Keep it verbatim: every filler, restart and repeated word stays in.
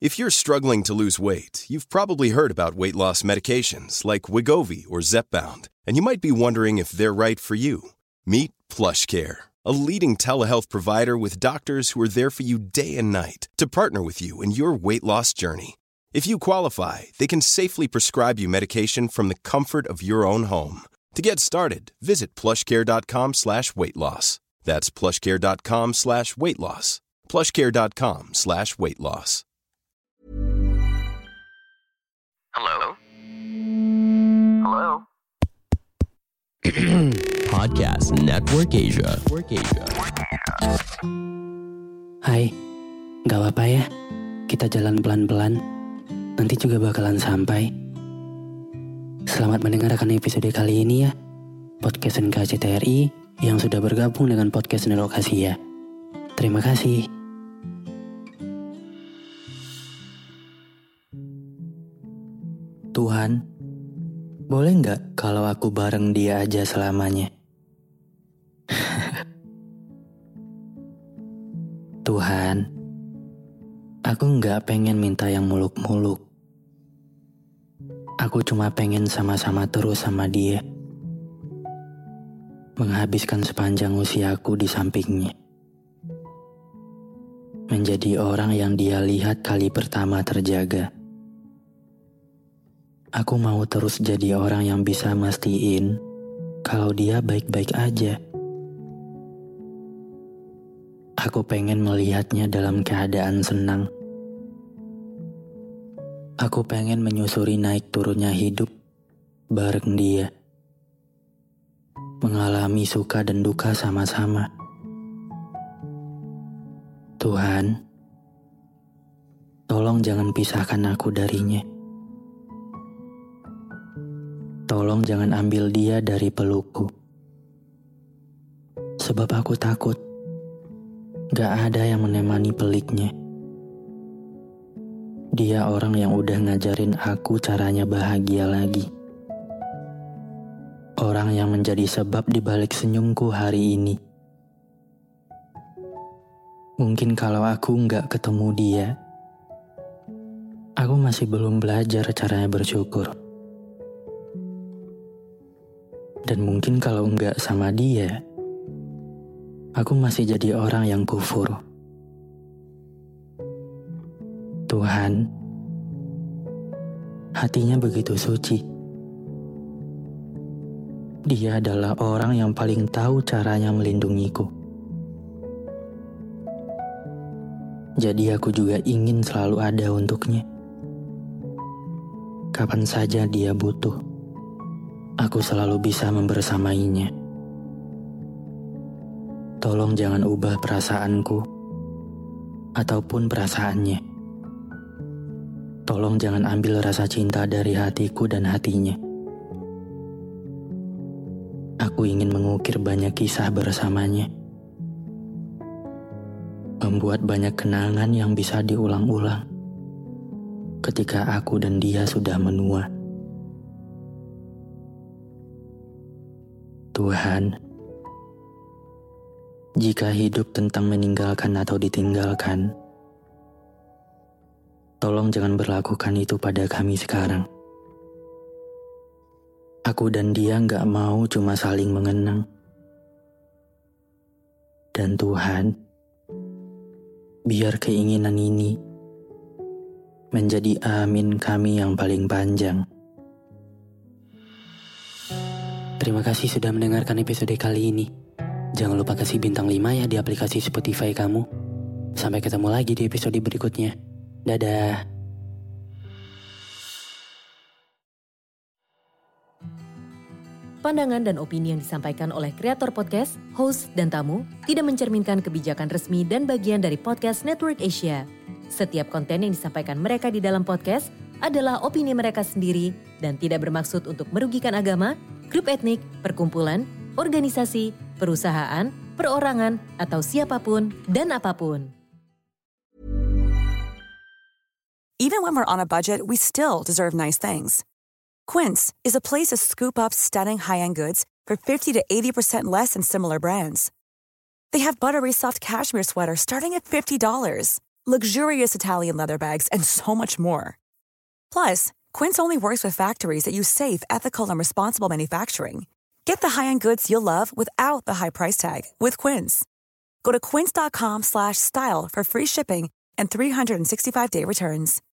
If you're struggling to lose weight, you've probably heard about weight loss medications like Wegovy or Zepbound, and you might be wondering if they're right for you. Meet PlushCare, a leading telehealth provider with doctors who are there for you day and night to partner with you in your weight loss journey. If you qualify, they can safely prescribe you medication from the comfort of your own home. To get started, visit plushcare.com slash weight loss. That's plushcare.com slash weight loss. plushcare.com slash weight loss. Hello? Hello? Podcast Network Asia. Network Asia. Hai, gak apa-apa ya, kita jalan pelan-pelan, nanti juga bakalan sampai. Selamat mendengarkan episode kali ini ya, Podcast N K C T R I yang sudah bergabung dengan Podcast Network Asia. Terima kasih. Tuhan, boleh nggak kalau aku bareng dia aja selamanya? Tuhan, aku nggak pengen minta yang muluk-muluk. Aku cuma pengen sama-sama terus sama dia. Menghabiskan sepanjang usiaku di sampingnya. Menjadi orang yang dia lihat kali pertama terjaga. Aku mau terus jadi orang yang bisa mastiin kalau dia baik-baik aja. Aku pengen melihatnya dalam keadaan senang. Aku pengen menyusuri naik turunnya hidup bareng dia. Mengalami suka dan duka sama-sama. Tuhan, tolong jangan pisahkan aku darinya. Tolong jangan ambil dia dari pelukku. Sebab aku takut gak ada yang menemani peliknya. Dia orang yang udah ngajarin aku caranya bahagia lagi. Orang yang menjadi sebab dibalik senyumku hari ini. Mungkin kalau aku gak ketemu dia, aku masih belum belajar caranya bersyukur. Dan mungkin kalau enggak sama dia, aku masih jadi orang yang kufur. Tuhan, hatinya begitu suci. Dia adalah orang yang paling tahu caranya melindungiku. Jadi aku juga ingin selalu ada untuknya. Kapan saja dia butuh, aku selalu bisa membersamainya. Tolong jangan ubah perasaanku ataupun perasaannya. Tolong jangan ambil rasa cinta dari hatiku dan hatinya. Aku ingin mengukir banyak kisah bersamanya. Membuat banyak kenangan yang bisa diulang-ulang ketika aku dan dia sudah menua. Tuhan, jika hidup tentang meninggalkan atau ditinggalkan, tolong jangan berlakukan itu pada kami sekarang. Aku dan dia gak mau cuma saling mengenang. Dan Tuhan, biar keinginan ini menjadi amin kami yang paling panjang. Terima kasih sudah mendengarkan episode kali ini. Jangan lupa kasih bintang lima ya di aplikasi Spotify kamu. Sampai ketemu lagi di episode berikutnya. Dadah. Pandangan dan opini yang disampaikan oleh kreator podcast, host, dan tamu tidak mencerminkan kebijakan resmi dan bagian dari Podcast Network Asia. Setiap konten yang disampaikan mereka di dalam podcast adalah opini mereka sendiri dan tidak bermaksud untuk merugikan agama, grup etnik, perkumpulan, organisasi, perusahaan, perorangan, atau siapapun dan apapun. Even when we're on a budget, we still deserve nice things. Quince is a place to scoop up stunning high-end goods for fifty to eighty percent less than similar brands. They have buttery soft cashmere sweaters starting at fifty dollars, luxurious Italian leather bags, and so much more. Plus, Quince only works with factories that use safe, ethical, and responsible manufacturing. Get the high-end goods you'll love without the high price tag with Quince. Go to quince.com slash style for free shipping and three sixty-five day returns.